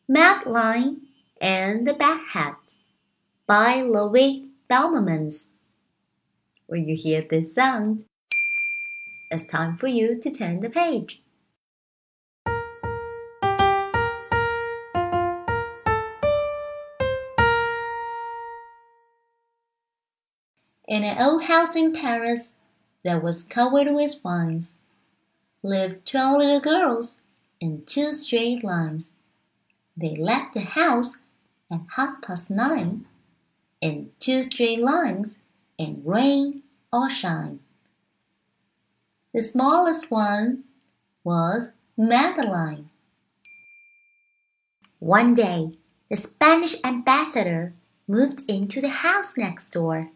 Madeline and the Bad Hat by Ludwig Bellmans. When you hear this sound, it's time for you to turn the page. In an old house in Paris that was covered with vines, lived 12 little girls in 2 straight lines. They left the house at 9:30 in 2 straight lines in rain or shine. The smallest one was Madeline. One day, the Spanish ambassador moved into the house next door.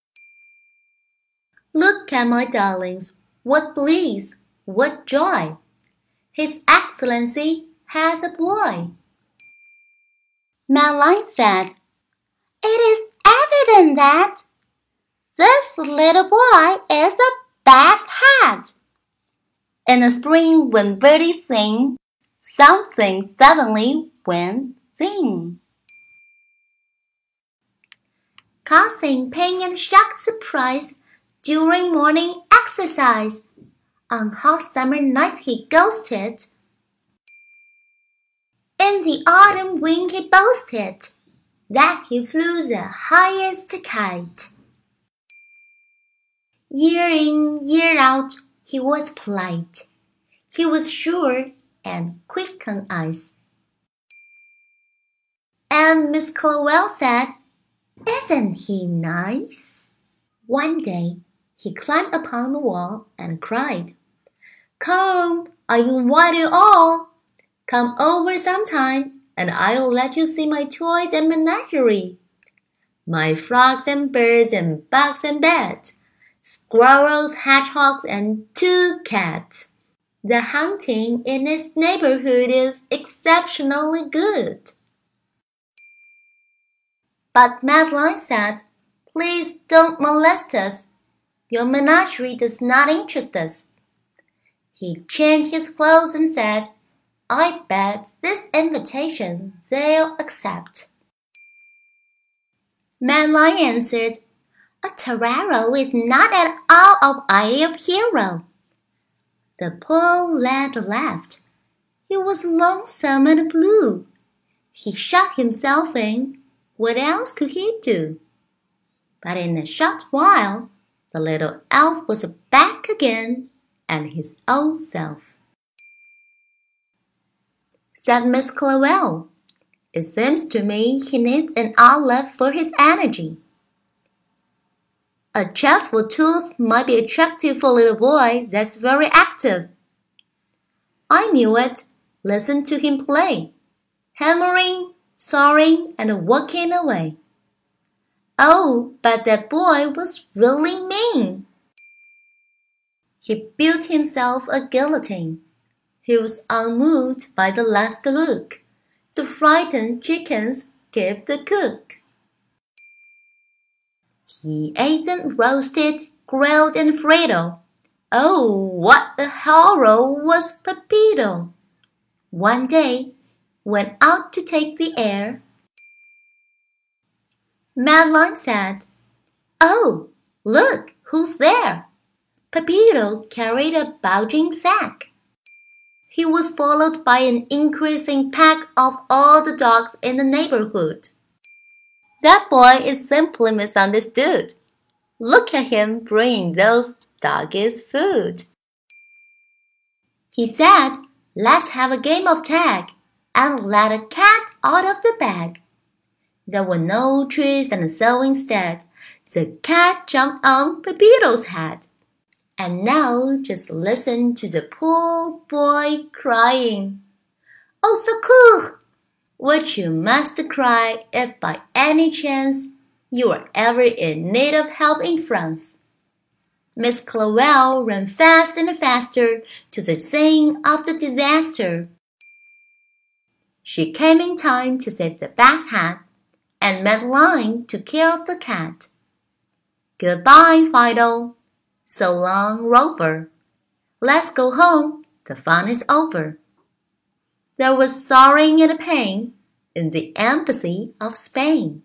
"Look at my darlings, what bliss, what joy! His Excellency has a boy." Madeline said, "It is evident that this little boy is a bad hat." In the spring when birdies sing, something suddenly went zing, causing pain and shocked surprise during morning exercise. On hot summer nights he ghosted. In the autumn wind he boasted that he flew the highest kite. Year in, year out, he was polite. He was sure and quick on ice. And Miss Clowell said, "Isn't he nice?" One day, he climbed upon the wall and cried, "Come, I invite you all. Come over sometime, and I'll let you see my toys and menagerie. My frogs and birds and bugs and bats, squirrels, hedgehogs, and 2 cats. The hunting in this neighborhood is exceptionally good." But Madeline said, "Please don't molest us. Your menagerie does not interest us." He changed his clothes and said, "I bet this invitation they'll accept." Madeline answered, "A torero is not at all of idea of hero." The poor lad laughed. He was lonesome and blue. He shut himself in. What else could he do? But in a short while, the little elf was back again and his old self. Said Miss Clowell, "It seems to me he needs an outlet for his energy. A chest for tools might be attractive for a little boy that's very active." I knew it. Listen to him play, hammering, sawing, and working away. Oh, but that boy was really mean. He built himself a guillotine. He was unmoved by the last look. The frightened chickens gave the cook. He ate them roasted, grilled, and fried. Oh, what a horror was Pepito! One day, went out to take the air. Madeline said, "Oh, look, who's there?" Pepito carried a bulging sack. He was followed by an increasing pack of all the dogs in the neighborhood. "That boy is simply misunderstood. Look at him bringing those doggies food." He said, "Let's have a game of tag, and let a cat out of the bag." There were no trees, and so instead, the cat jumped on Pepito's head. And now just listen to the poor boy crying, "Au secours!" which you must cry if by any chance you are ever in need of help in France. Miss Clowell ran fast and faster to the scene of the disaster. She came in time to save the Bad Hat, and Madeline took care of the cat. Goodbye, Fido. So long, Rover. Let's go home. The fun is over. There was sorrowing and pain, in the embassy of Spain.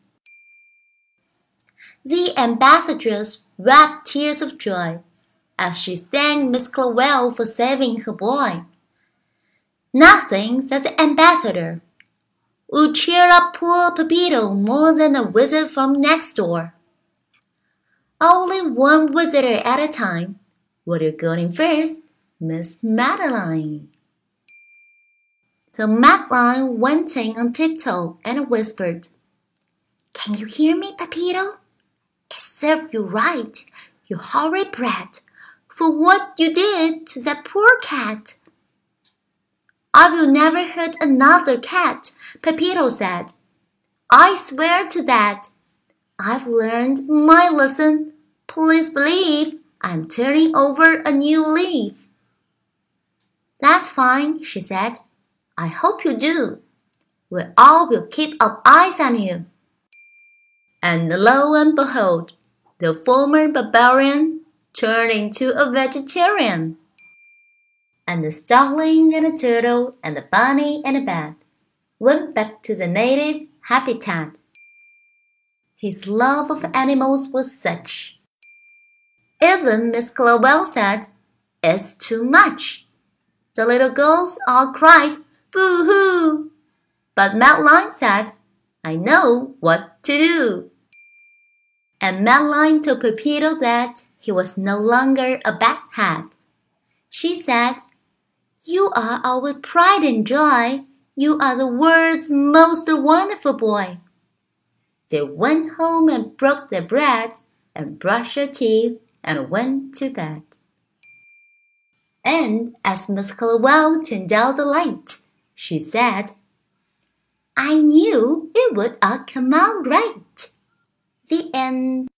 The ambassadress wept tears of joy as she thanked Miss Clawell for saving her boy. "Nothing," said the ambassador, "would cheer up poor Pepito more than a visit from next door." "Only one visitor at a time. Will you go in first, Miss Madeline?" So Madeline went in on tiptoe and whispered, "Can you hear me, Pepito? It served you right, you horrid brat, for what you did to that poor cat." "I will never hurt another cat," Pepito said. "I swear to that. I've learned my lesson. Please believe I'm turning over a new leaf." "That's fine," she said. "I hope you do. We all will keep our eyes on you." And lo and behold, the former barbarian turned into a vegetarian. And the starling and the turtle and the bunny and the bat went back to the native habitat. His love of animals was such. Even Miss Clawell said, "It's too much." The little girls all cried, "Boo-hoo!" But Madeline said, "I know what to do." And Madeline told Pepito that he was no longer a baghead. She said, "You are our pride and joy. You are the world's most wonderful boy." They went home and broke their bread and brushed their teeth and went to bed. And as Miss Clawell turned out the light, she said, "I knew it would all come out right." The end.